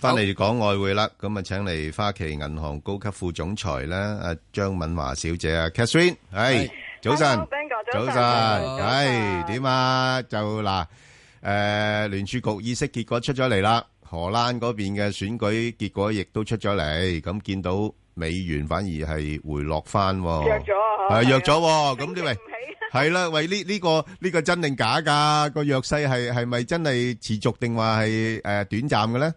翻嚟講外匯啦，咁啊，請嚟花旗銀行高級副總裁咧，阿張敏華小姐啊 ，Catherine， 係早晨，早晨，係點啊？就嗱，聯儲局議息結果出咗嚟啦，荷蘭嗰邊嘅選舉結果亦都出咗嚟，咁見到美元反而係回落翻，弱咗啊， 係弱咗，咁呢位係啦，喂呢個真定假噶？個弱勢係咪真係持續定話係短暫嘅咧？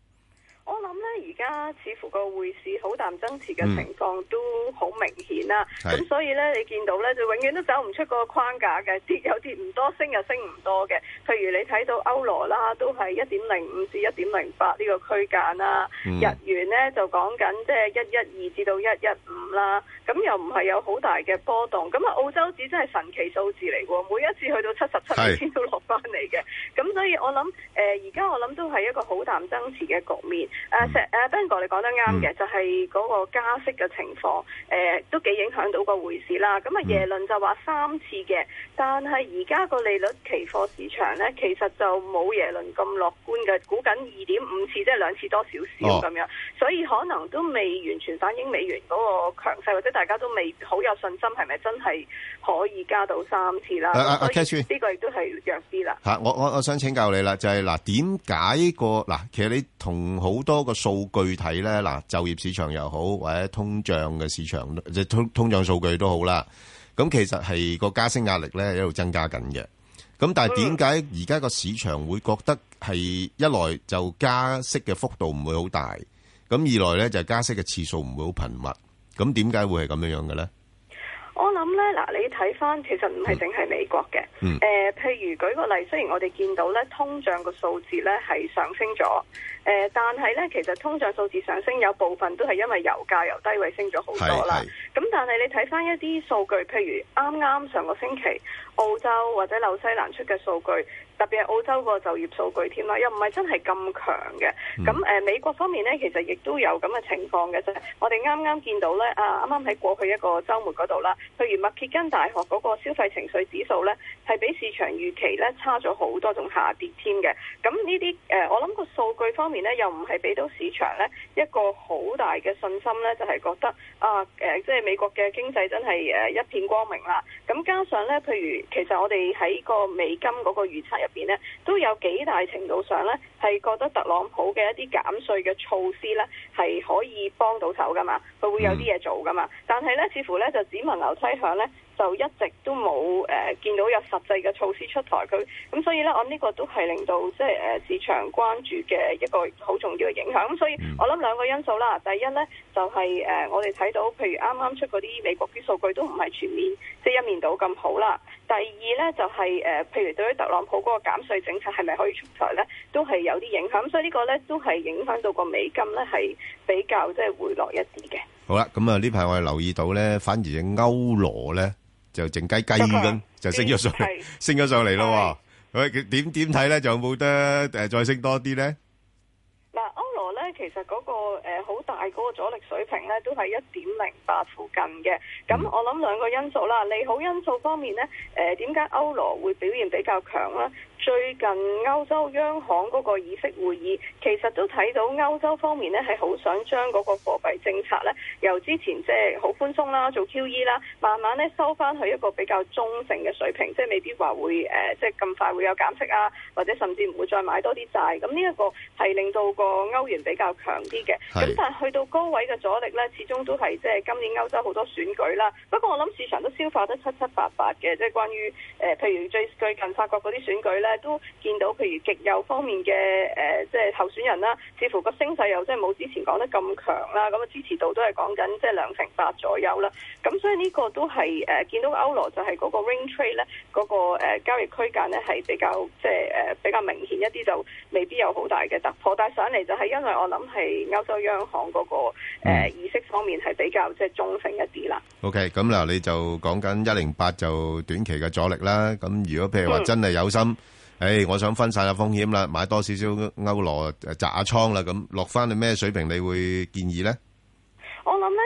似乎個匯市好淡爭持嘅情況都好明顯啦，咁所以咧你見到咧就永遠都走唔出個框架嘅，跌有跌唔多，升又升唔多嘅。譬如你睇到歐羅啦，都係1.05至1.08呢個區間啦，日元咧就講緊即係112至到115啦，咁又唔係有好大嘅波動。咁啊澳洲紙真係神奇數字嚟喎，每一次去到77美仙都落翻嚟嘅。咁所以我諗而家我諗都係一個好淡爭持嘅局面。Ben 哥你講得啱嘅，就係嗰個加息嘅情況，都幾影響到個匯市啦。咁啊耶倫就話3次嘅，但係而家個利率期貨市場咧，其實就冇耶倫咁樂觀嘅，估緊2.5次，即係2次多少少咁樣，所以可能都未完全反映美元嗰個強勢，或者大家都未好有信心，係咪真係可以加到3次啦？所以呢個亦都係弱啲啦。 我想請教你啦，就係嗱，點解其實你同好多個數據睇咧，嗱，就業市場又好，或者通脹嘅市場，即係通脹數據都好啦。咁其實係個加息壓力咧一路增加緊嘅。咁但係點解而家個市場會覺得係一來就加息嘅幅度唔會好大，咁二來咧就加息嘅次數唔會好頻密。咁點解會係咁樣嘅咧？ 我諗咧，嗱，你睇翻其實唔係淨係美國嘅，譬如舉個例，雖然我哋見到咧通脹個數字咧係上升咗，但係咧其實通脹數字上升有部分都係因為油價由低位升咗好多啦。咁但係你睇翻一啲數據，譬如啱啱上個星期澳洲或者紐西蘭出嘅數據，特別係澳洲個就業數據添啦，又唔係真係咁強嘅。咁美國方面咧，其實亦都有咁嘅情況嘅啫。我哋啱啱見到咧，啱啱喺過去一個週末嗰度啦，譬如密歇根大學嗰個消費情緒指數咧，係比市場預期咧差咗好多，仲下跌添嘅。咁呢啲我諗個數據方面咧，又唔係俾到市場咧一個好大嘅信心咧，就係覺得即係美國嘅經濟真係一片光明啦。咁加上咧，譬如其實我哋喺個美金嗰個預測入邊咧，都有幾大程度上咧係覺得特朗普嘅一啲減稅嘅措施咧係可以幫到手噶嘛，佢會有啲嘢做噶嘛。但係咧，似乎咧就只聞樓梯響咧，就一直都冇見到有實際嘅措施出台。咁所以咧，我呢個都係令到即係市場關注嘅一個好重要嘅影響。咁所以我諗兩個因素啦。第一咧就係我哋睇到，譬如啱啱出嗰啲美國啲數據都唔係全面即係一面倒咁好啦。第二咧就係譬如對於特朗普嗰個減稅政策係咪可以出台咧，都係有啲影響。所以呢個咧都係影響到個美金咧係比較即係回落一啲嘅。 好啦，咁啊呢排我哋留意到咧，反而隻歐羅咧就靜雞雞咁就升咗上嚟咯。喂，點睇咧？就有冇得再升多啲咧？ 嗱，歐羅咧其實嗰個好大嗰個阻力水平咧都係1.08附近嘅。咁我諗兩個因素啦，利好因素方面咧，點解歐羅會表現比較強咧？最近歐洲央行嗰個議息會議，其實都睇到歐洲方面咧係好想將嗰個貨幣政策咧，由之前即係好寬鬆啦，做 QE 啦，慢慢咧收翻去一個比較中性嘅水平，即係未必話會即係咁快會有減息啊，或者甚至唔會再買多啲債。咁呢一個係令到個歐元比較強啲嘅。咁但係去到高位嘅阻力咧，始終都係即係今年歐洲好多選舉啦。不過我諗市場都消化得七七八八嘅，即係關於譬如最近法國嗰啲選舉咧。都見到，譬如極右方面嘅即係候選人啦，似乎個聲勢又即係冇之前講得咁強啦，咁啊支持度都係講緊即係2%左右啦。咁所以呢個都係見到歐羅就係嗰個 range trade 咧，嗰個交易區間咧係比較即係比較明顯一啲，就未必有好大嘅突破。但係上嚟就係因為我諗係歐洲央行嗰個議息方面係比較即係中性一啲啦。 OK， 咁嗱你就講緊108就短期嘅阻力啦。咁如果譬如話真係有心。我想分散下風險啦，買多少少歐羅擲下倉啦，咁落翻去咩水平你會建議呢？ 我諗咧，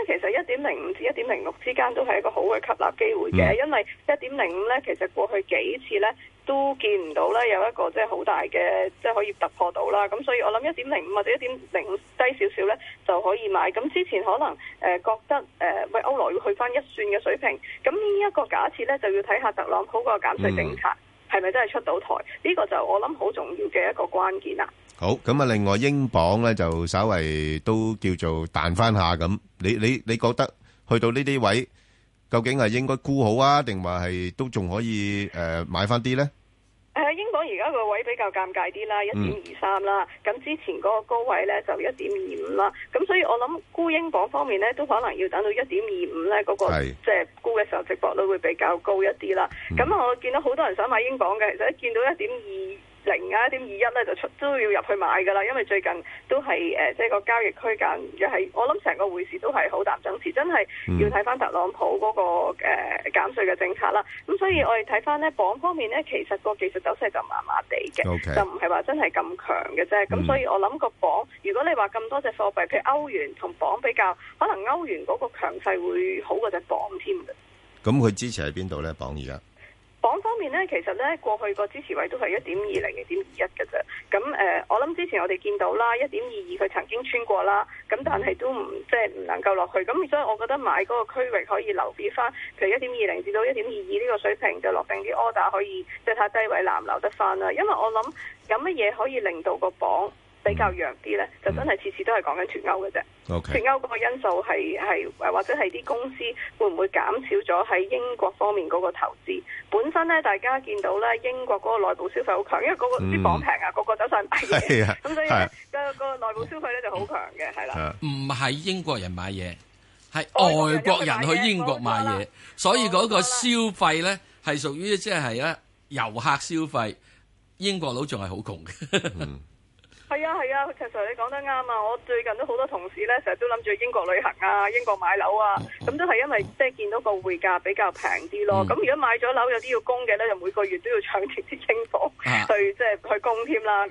其實1.05至1.06之間都係一個好嘅吸納機會嘅，因為1.05咧其實過去幾次咧都見唔到咧有一個即係好大嘅即係可以突破到啦。咁所以我諗1.05或者1.05低少少咧就可以買。咁之前可能覺得喂歐羅要去翻1算嘅水平，咁呢一個假設咧就要睇下特朗普個減稅政策係咪真係出到台？呢個就我諗好重要嘅一個關鍵啦。 好，咁啊，另外英鎊咧就稍微都叫做彈翻下咁，你覺得去到呢啲位，究竟係應該沽好啊，定話係都仲可以買翻啲咧？ 英鎊而家個位比較尷尬啲啦，1.23啦，咁之前嗰個高位咧就1.25啦，咁所以我諗沽英鎊方面咧都可能要等到1.25咧嗰個即係沽嘅時候，值博率會比較高一啲啦。咁我見到好多人想買英鎊嘅，其實一見到1.20啊1.21咧就都要入去買噶啦，因為最近都係即係個交易區間又係我諗成個匯市都係好淡爭持，真係要睇翻特朗普嗰個減稅嘅政策啦。咁所以我哋睇翻呢鎊方面呢，其實個技術走勢就麻麻地嘅，就唔係話真係咁強嘅啫。咁所以我諗個鎊，如果你話咁多隻貨幣，譬如歐元同鎊比較，可能歐元嗰個強勢會好過隻鎊添嘅。 咁佢支持喺邊度呢？鎊而家？ 鎊方面呢，其實呢過去個支持位都係1.20、1.21嘅啫。咁我諗之前我哋見到啦，1.22佢曾經穿過啦，咁但係都即係唔能夠落去。咁所以我覺得買嗰個區域可以留意翻，譬如1.20至到1.22呢個水平就落定啲 order，可以即係睇低位難留得翻啦。因為我諗有乜嘢可以令到個鎊比較弱啲咧，就真係次次都係講緊脫歐嘅啫。脫歐嗰個因素係或者係啲公司會唔會減少咗喺英國方面嗰個投資？本身咧，大家見到咧英國嗰個內部消費好強，因為嗰個啲鎊平啊，個個走上買嘢，咁所以咧個內部消費咧就好強嘅，係啦。 唔係英國人買嘢，係外國人去英國買嘢，所以嗰個消費咧係屬於即係咧遊客消費，英國佬仲係好窮嘅。 係啊，其實你講得啱啊！我最近都好多同事咧，成日都諗住英國旅行啊、英國買樓啊，咁都係因為即係見到個匯價比較平啲咯。咁如果買咗樓有啲要供嘅咧，就每個月都要搶住啲英鎊去即係去供添啦。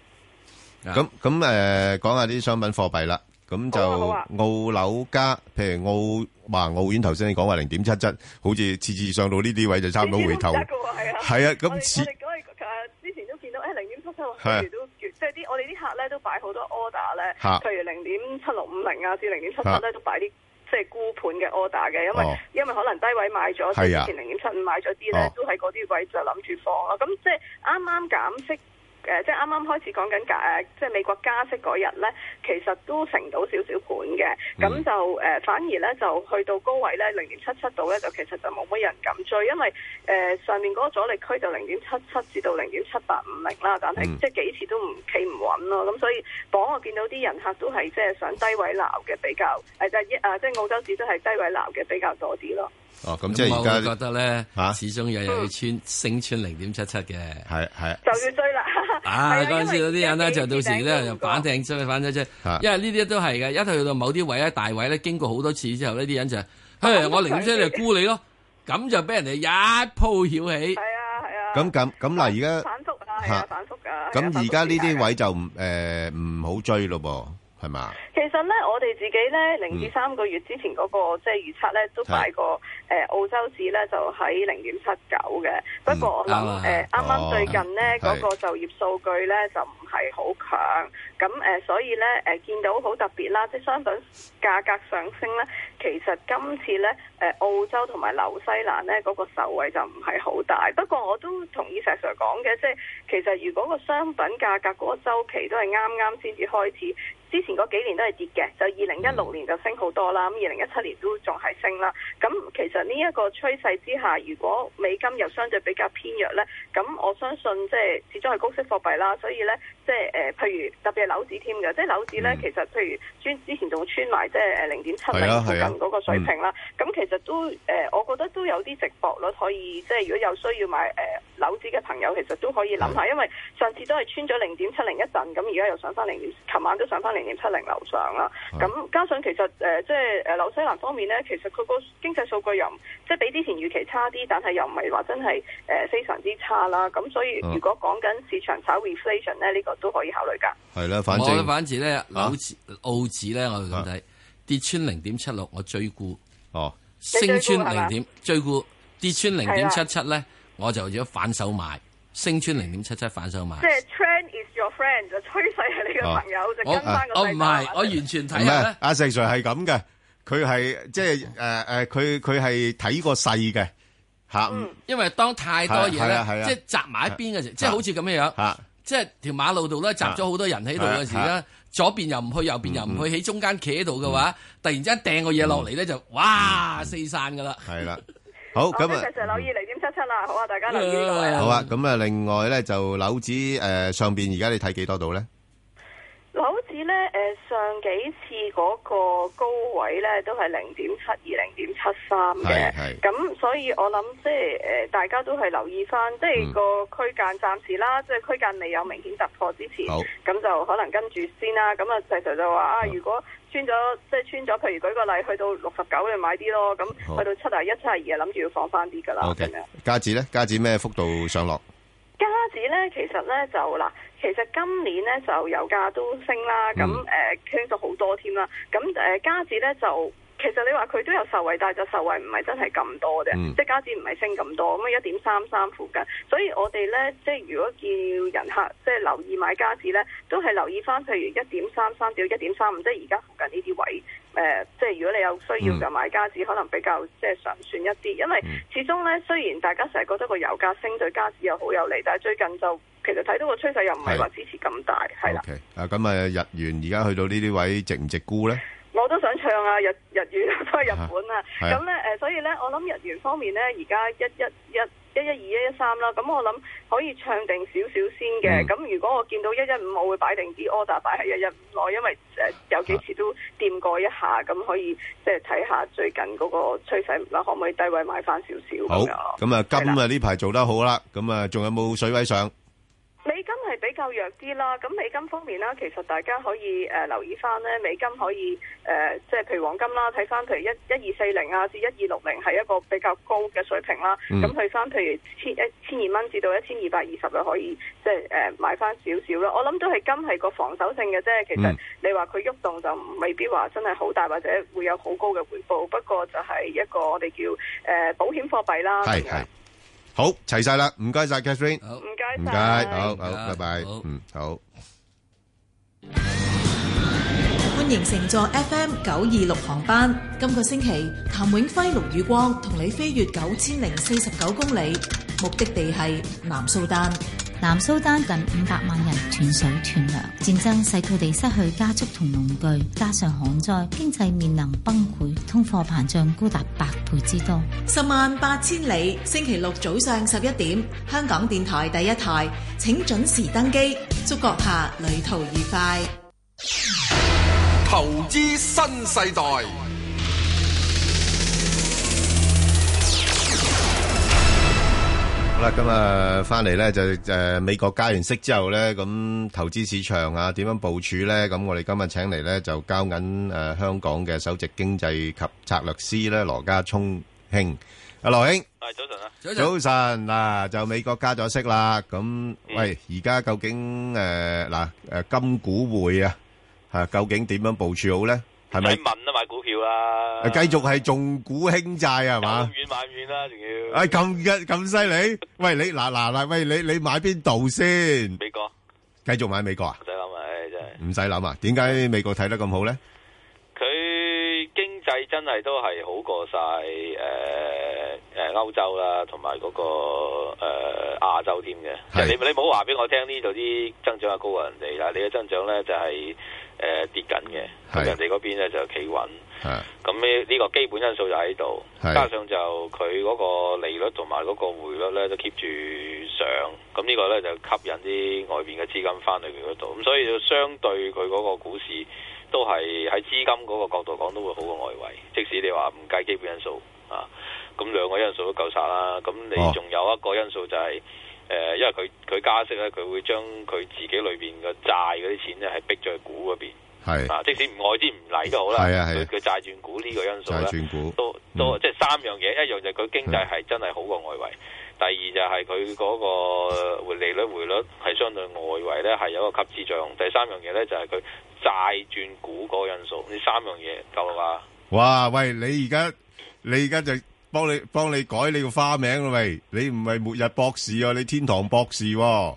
咁講下啲商品貨幣啦。咁就澳樓加，譬如澳元頭先你講話0.77，好似次次上到呢啲位就差唔多回頭。係啊，咁之前都見到0.77，都即係我哋啲客咧都擺好多 order 咧，譬如0.7650啊至0.77咧都擺啲即係沽盤嘅 order 嘅，因為可能低位買咗，之前0.75買咗啲咧，都喺嗰啲位就諗住放咯。咁即係啱啱減息。即係啱啱開始講緊即係美國加息嗰日咧，其實都成到少少盤嘅，咁就反而咧就去到高位咧0.77度咧，就其實就冇乜人敢追，因為上面嗰個阻力區就0.77至到0.7850啦，但係即係幾次都唔企唔穩咯，咁所以鎊我見到啲人客都係即係想低位撈嘅比較，即係澳洲紙都係低位撈嘅比較多啲咯。 咁即係而家覺得咧始終又要升穿0.77嘅， 係就要追啦。 嗰陣時嗰啲人咧就到時咧就反艇追，因為呢啲都係嘅，一去到某啲位咧大位咧，經過好多次之後呢啲人就我0.7就沽你咯，咁就俾人哋一鋪曉起。係啊。 咁嗱，而家反覆啊，反覆㗎。 咁而家呢啲位就唔好追咯噃，係嘛？ 其實咧，我哋自己咧0至3個月之前嗰個即係預測咧，都擺過澳洲紙咧就喺0.79嘅。不過我諗啱啱最近咧嗰個就業數據咧就唔係好強，咁所以咧見到好特別啦，即係商品價格上升咧，其實今次咧澳洲同埋紐西蘭咧嗰個受惠就唔係好大。不過我都同意石 Sir 講嘅，即係其實如果個商品價格嗰個週期都係啱先至開始。之前嗰幾年都係跌嘅，就2016年就升好多啦，咁2017年都仲係升啦。咁其實呢一個趨勢之下，如果美金又相對比較偏弱咧，咁我相信即係始終係高息貨幣啦，所以咧即係譬如特別係樓指添嘅，即係樓指咧其實譬如之前仲穿埋即係0.70附近嗰個水平啦。咁其實都我覺得都有啲值博率可以，即係如果有需要買樓指嘅朋友，其實都可以諗下，因為上次都係穿咗0.70一陣，咁而家又上翻琴晚都上翻0.70樓上啦，咁加上其實即係紐西蘭方面咧，其實佢個經濟數據又即係比之前預期差啲，但係又唔係話真係非常之差啦。咁所以如果講緊市場炒 reflation 咧，呢個都可以考慮㗎。 係啦，反正咧， 澳紙咧，我哋咁睇， 跌穿0.76，我追沽。 哦， 升穿0.追沽，跌穿0.77咧，我就要反手買。升穿0.77反手買。 即係 trend is your friend， 就趨勢係你嘅朋友，就跟翻個勢。 我唔係，我完全睇下咧。 阿石 Sir 係咁嘅，佢係即係佢係睇個勢嘅嚇。 因為當太多嘢咧，即係集埋一邊嘅時，即係好似咁樣樣。即係條馬路度咧，集咗好多人喺度嘅時咧，左邊又唔去，右邊又唔去，喺中間企喺度嘅話，突然之間掟個嘢落嚟咧，就哇四散噶啦。係啦，好咁啊， 石 Sir 留意0.77啦，好啊，大家留意呢個。 好啊，咁啊，另外咧就樓指上邊而家你睇幾多度咧？ 樓指咧上幾次嗰個高位咧都係0.72、0.73嘅，咁所以我諗即係大家都係留意翻，即係個區間暫時啦，即係區間未有明顯突破之前，咁就可能跟住先啦。咁啊，石 Sir就話啊，如果穿咗，譬如舉個例，去到69你買啲咯，咁去到71、72諗住要放翻啲噶啦。咁樣加指咧，加指咩幅度上落？ 加指咧，其實咧就嗱，其實今年咧就油價都升啦，咁升咗好多添啦，咁加指咧就其實你話佢都有受惠，但係就受惠唔係真係咁多嘅，即係加指唔係升咁多，咁啊1.33附近，所以我哋咧即係如果叫人客即係留意買加指咧，都係留意翻譬如1.33到1.35，即係而家附近呢啲位。即係如果你有需要就買加指，可能比較即係常算一啲，因為始終咧雖然大家成日覺得個油價升對加指又好有利，但係最近就其實睇到個趨勢又唔係話支持咁大，係啦。 咁啊日元而家去到呢啲位值唔值沽咧？ 我都想唱啊，日元都係日本啊，咁咧所以咧我諗日元方面咧而家112、113啦，咁我諗可以唱定少少先嘅。咁如果我見到115，我會擺定啲 order 擺喺115內，因為有幾次都掂過一下，咁可以即係睇下最近嗰個趨勢啦，可唔可以低位買翻少少。 好，咁啊金啊呢排做得好啦，咁啊仲有冇水位上？ 美金係比較弱啲啦，咁美金方面啦，其實大家可以留意翻咧，美金可以即係譬如黃金啦，睇翻譬如1240啊至1260係一個比較高嘅水平啦，咁去翻譬如1200蚊至到1220就可以即係買翻少少啦。我諗都係金係個防守性嘅啫，其實你話佢喐動就未必話真係好大或者會有好高嘅回報，不過就係一個我哋叫保險貨幣啦。 係。好，齊晒啦，唔該晒 Catherine， 唔該， 好，拜拜，好。 歡迎乘坐 FM 926航班。今個星期，譚永輝、陸宇光同你飛越9049公里，目的地係南蘇丹。 南蘇丹近500萬人斷水斷糧，戰爭使佢哋失去家畜同農具，加上旱災，經濟面臨崩潰，通貨膨脹高達8倍之多。 108000里，星期六早上11點，香港電台第一台，請準時登機，祝閣下旅途愉快。 投資新世代。 好啦，今日翻嚟咧就美國加完息之後咧，咁投資市場啊點樣部署咧？咁我哋今日請嚟咧就交緊香港嘅首席經濟及策略師咧羅家聰兄，阿羅兄， 早晨啊， 早晨嗱，就美國加咗息啦，咁喂而家究竟金股匯啊究竟點樣部署好咧？係咪問啊買股票啦？ 繼續係重股輕債係嘛？ 遠買遠啦，仲要咁犀利？喂，你嗱，喂你買邊度先？ 美國繼續買美國啊？ 唔使諗啊，真係唔使諗啊？點解美國睇得咁好咧？ 佢經濟真係都係好過晒歐洲啦，同埋嗰個亞洲添嘅。你唔好話俾我聽呢度啲增長係高過人哋啦，你嘅增長咧就係跌緊嘅，咁人哋嗰邊咧就企穩。咁呢個基本因素就喺度，加上就佢嗰個利率同埋嗰個匯率咧都 keep 住上，咁呢個咧就吸引啲外邊嘅資金翻去佢嗰度，咁所以就相對佢嗰個股市都係喺資金嗰個角度講都會好過外圍，即使你話唔計基本因素啊，咁兩個因素都夠晒啦。咁你仲有一個因素就係因為佢加息咧，佢會將佢自己裏邊嘅債嗰啲錢咧係逼咗去股嗰邊。係啊，即使外資唔嚟都好啦，佢債轉股呢個因素咧，都即係三樣嘢，一樣就係佢經濟係真係好過外圍， 第二就係佢嗰個利率係相對外圍咧係有一個吸資作用。第三樣嘢咧就係佢債轉股嗰個因素。呢三樣嘢夠啦嘛？ 哇！喂，你而家就幫你改你個花名啦喂！你唔係末日博士啊，你天堂博士喎！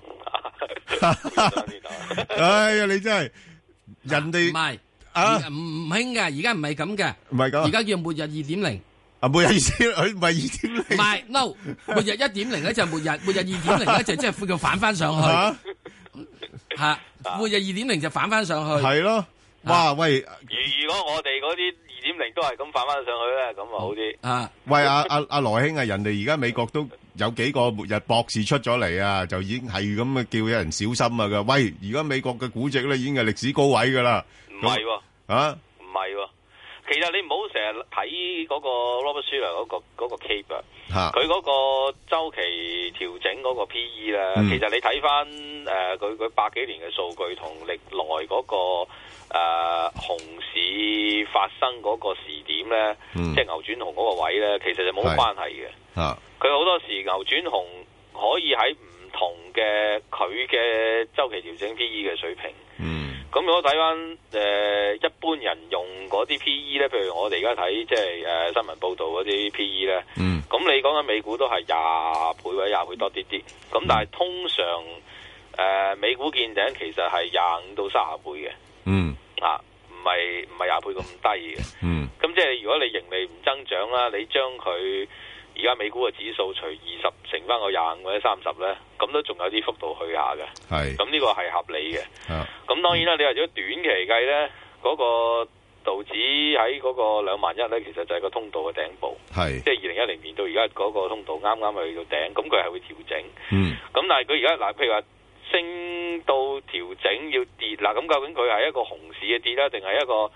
哎呀，你真係人哋唔係啊唔興嘅，而家唔係咁嘅， 唔係咁， 而家叫末日2.0。 啊，末日2.0，佢唔係2.0， 唔係 no， 末日1.0咧就係末日2.0咧就即係叫反翻上去嚇，末日2.0就反翻上去。 係咯，哇喂！ 如果我哋嗰啲2.0都係咁反翻上去咧，咁啊好啲。 啊，喂阿羅兄啊，人哋而家美國都有幾個末日博士出咗嚟啊，就已經係咁嘅叫有人小心啊噶。喂，而家美國嘅估值咧已經係歷史高位噶啦。 唔係喎， 啊， 唔係喎。其實你唔好成日睇嗰個 Robert Shiller 嗰個 Cape 啊，佢嗰個週期調整嗰個 PE 咧，其實你睇翻佢百幾年嘅數據同歷來嗰個熊市發生嗰個時點咧，即係牛轉熊嗰個位咧，其實就冇關係嘅。佢好多時牛轉熊可以喺唔同嘅佢嘅週期調整 PE嘅水平。咁如果睇翻一般人用嗰啲 P/E 咧，譬如我哋而家睇即係新聞報導嗰啲 P/E 咧，咁你講緊美股都係20倍或者20倍多啲啲，咁但係通常美股見頂其實係25到30倍嘅，唔係20倍咁低嘅，咁即係如果你盈利唔增長啦，你將佢而家美股嘅指數除20乘翻個25或者30咧，咁都仲有啲幅度去下嘅。係，咁呢個係合理嘅。咁當然啦，你話如果短期計咧，嗰個道指喺嗰個21,000咧，其實就係個通道嘅頂部。係，即係2010年到而家嗰個通道啱啱去到頂，咁佢係會調整。咁但係佢而家嗱，譬如話升到調整要跌嗱，咁究竟佢係一個熊市嘅跌啦，定係一個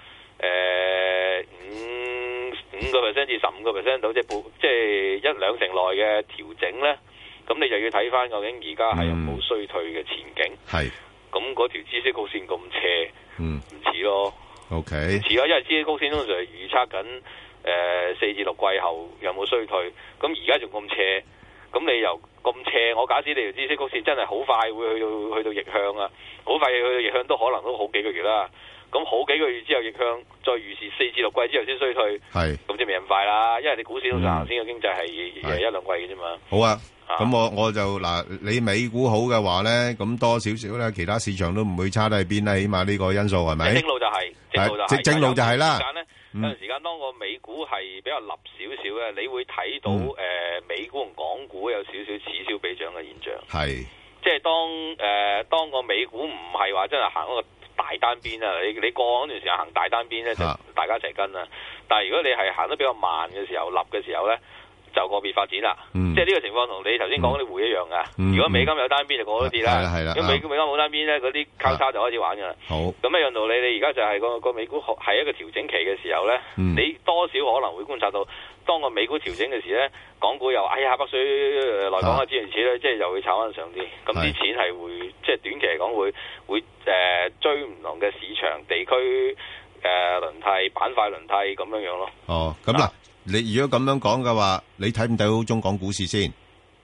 5% 至15% 到，即係1-2成內嘅調整咧，咁你就要睇翻究竟而家係有冇衰退嘅前景。係，咁嗰條孳息曲線咁斜，唔似咯。OK， 唔似咯，因為孳息曲線通常係預測緊4至6季後有冇衰退，咁而家仲咁斜，咁你又咁斜，我假設你條孳息曲線真係好快會去到逆向啊，好快去到逆向都可能都好幾個月啦。咁好幾個月之後逆向，再預示4至6季之後先衰退，咁就未咁快啦。因為你股市通常行先嘅經濟係1-2季嘅啫嘛。好啊，咁我就嗱，你美股好嘅話咧，咁多少少咧，其他市場都唔會差得去邊啦。起碼呢個因素係咪？正路就係，正路就係啦。有陣時間當個美股係比較立少少咧，你會睇到美股同港股有少少此消彼長嘅現象。係，即係當個美股唔係話真係行嗰個大單邊啊！你過嗰段時間行大單邊咧，就大家一齊跟啦。但係如果你係行得比較慢嘅時候，立嘅時候咧，就個別發展啦。即係呢個情況同你頭先講嗰啲匯一樣噶。如果美金有單邊就個個都跌啦。如果美金冇單邊咧，嗰啲交叉就開始玩噶啦。好，咁一樣道理，你而家就係個美股係一個調整期嘅時候咧，你多少可能會觀察到，當個美股調整嘅時咧，港股又北水來港啊諸如此類，即係又會炒翻上啲。咁啲錢係會即係短期嚟講會追唔同嘅市場地區輪替板塊輪替咁樣樣咯。哦，咁嗱，你如果咁樣講嘅話，你睇唔睇好中港股市先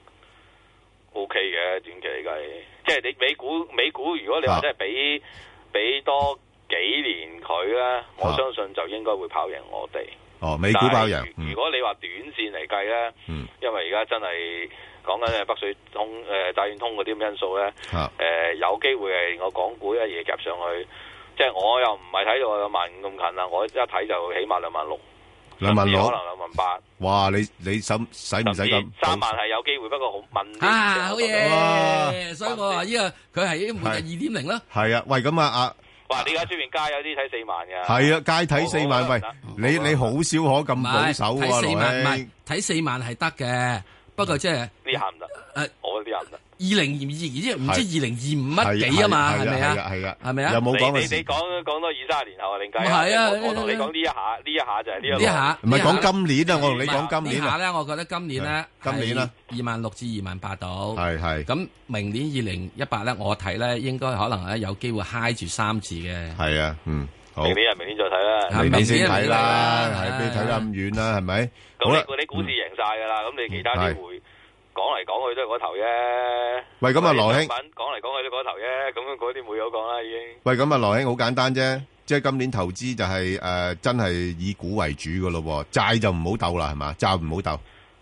？OK 嘅，短期嚟計，即係你美股，如果你話真係俾多幾年佢咧，我相信就應該會跑贏我哋。哦，美股跑贏。如果你話短線嚟計咧，因為而家真係講緊北水通債券通嗰啲咁因素咧，有機會係我港股一嘢夾上去，即係我又唔係睇到25,000咁近啦，我一睇就起碼26,000，甚至可能28,000。哇！你使唔使咁？3萬係有機會，不過好問好嘢，所以我話呢個佢係末日2.0啦。係啊，喂，咁啊哇！你而家出邊街有啲睇4萬嘅，係啊，街睇4萬。喂，你好少可咁保守喎，睇4萬唔係睇4萬係得嘅，不過即係呢下唔得。我呢下唔得。2022即係唔知2025乜幾啊嘛，係咪啊？係咪啊？有冇講你講多2-3年後啊，另計。係啊，我同你講呢一下就係呢一下。唔係講今年啊，我同你講今年。呢下咧，我覺得今年咧26,000至28,000到。係。咁明年2018咧，我睇咧應該可能咧有機會嗨住3字嘅。係啊，好。明年再睇啦。明年先睇啦，係俾你睇得咁遠啦，係咪？咁你股市贏晒㗎啦，咁你其他啲會。 講嚟講去都係嗰頭啫。 喂，咁啊，羅兄講嚟講去都嗰頭啫，咁嗰啲冇有講啦已經。 喂，咁啊，羅兄好簡單啫，即係今年投資就係真係以股為主噶咯，債就唔好鬥啦，係嘛？債唔好鬥。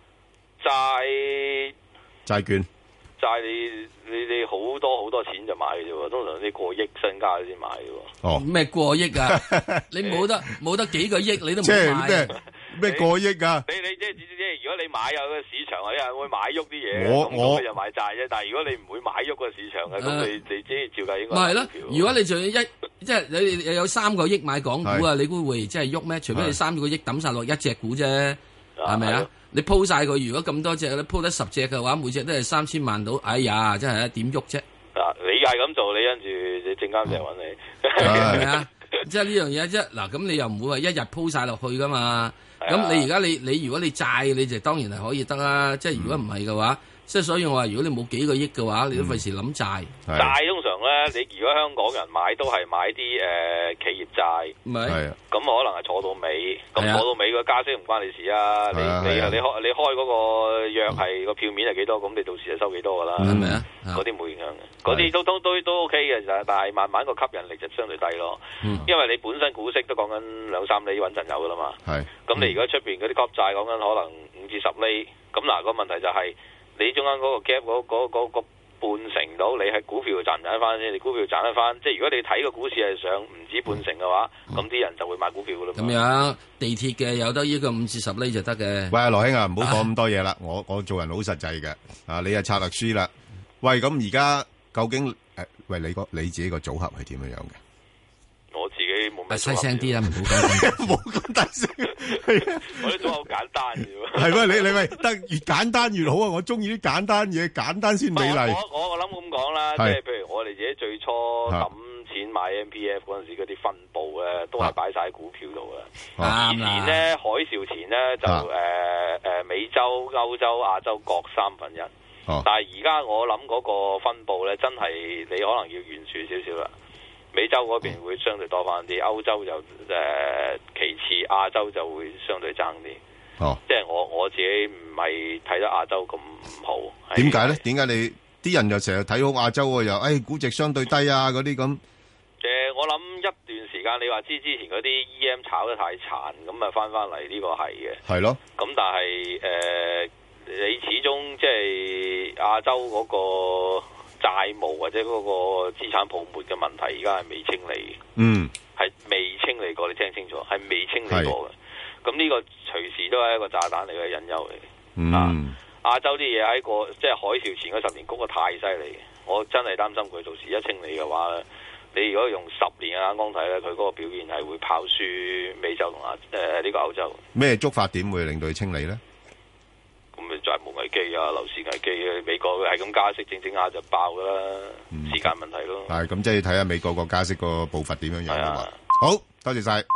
債券。 債你好多錢就買嘅啫喎，通常啲過億身家先買嘅喎。 哦， 咩過億啊？你冇得幾個億你都唔買。 即係咩過億啊？ 你即係如果你買有個市場，你係會買喐啲嘢，咁你就買債啫。但係如果你唔會買喐個市場嘅，咁你即係照計應該。 咪係咯？如果你仲要即係你有3個億買港股啊，你估會即係喐咩？除非你3個億抌晒落一隻股啫，係咪啊？你鋪晒佢，如果咁多隻，你鋪得10隻嘅話，每隻都係3000萬到。哎呀，真係點喐啫？ 你係咁做，你跟住你證監就揾你， 係咪啊？即係呢樣嘢啫。嗱，咁你又唔會話一日鋪晒落去噶嘛？咁你而家你如果你債，你就當然係可以得啦。即係如果唔係嘅話。即係所以我話，如果你冇幾個億嘅話，你都費事諗債。 債通常咧，你如果香港人買都係買啲企業債， 唔係咁可能係坐到尾，咁坐到尾個加息唔關你事啊。你開嗰個約係個票面係幾多，咁你到時就收幾多噶啦。 係咪啊？ 嗰啲冇影響嘅，嗰啲都 OK 嘅，但係慢慢個吸引力就相對低咯。因為你本身股息都講緊2-3厘穩陣有噶啦嘛。咁你如果出邊嗰啲國債講緊可能5至10厘，咁嗱個問題就係。你中間嗰個 gap 嗰個半成到，你係股票賺唔賺得翻先？你股票賺得翻，即係如果你睇個股市係上唔止半成嘅話，咁啲人就會買股票噶啦。咁樣地鐵嘅有得呢個5至10厘就得嘅。 喂，羅兄啊，唔好講咁多嘢啦，我做人好實際嘅，你係策略師啦。喂，咁而家究竟喂你自己個組合係點樣樣嘅？ 我自己冇咩。 細聲啲啦，唔好講冇咁大聲。 我啲組合好簡單嘅喎。 係喂，你喂得越簡單越好啊！我中意啲簡單嘢，簡單先美麗。 我諗咁講啦，即係譬如我哋自己最初抌錢買 MPF 嗰陣時，嗰啲分佈咧都係擺晒喺股票度嘅。以前咧海嘯前咧就美洲、歐洲、亞洲各1/3。但係而家我諗嗰個分佈咧，真係你可能要懸殊少少啦。美洲嗰邊會相對多翻啲，歐洲就其次，亞洲就會相對爭啲。即係我自己唔係睇得亞洲咁好。 點解咧？點解你啲人又成日睇好亞洲又估值相對低啊嗰啲咁？ 我諗一段時間你話之前嗰啲 EM 炒得太殘，咁啊翻嚟呢個係嘅。係咯。咁但係你始終即係亞洲嗰個債務或者嗰個資產泡沫嘅問題，而家係未清理嘅。係未清理過，你聽清楚，係未清理過嘅。咁呢個隨時都係一個炸彈嚟嘅隱憂嚟。亞洲啲嘢喺個即係海嘯前嗰10年谷得太犀利，我真係擔心佢到時一清理嘅話咧，你如果用10年嘅眼光睇咧，佢嗰個表現係會跑輸美洲同呢個歐洲。咩觸發點會令到佢清理咧？咁咪債務危機啊、樓市危機啊，美國係咁加息，整下就爆噶啦，時間問題咯。係咁，即係睇下美國個加息個步伐點樣樣啊嘛。好多謝晒。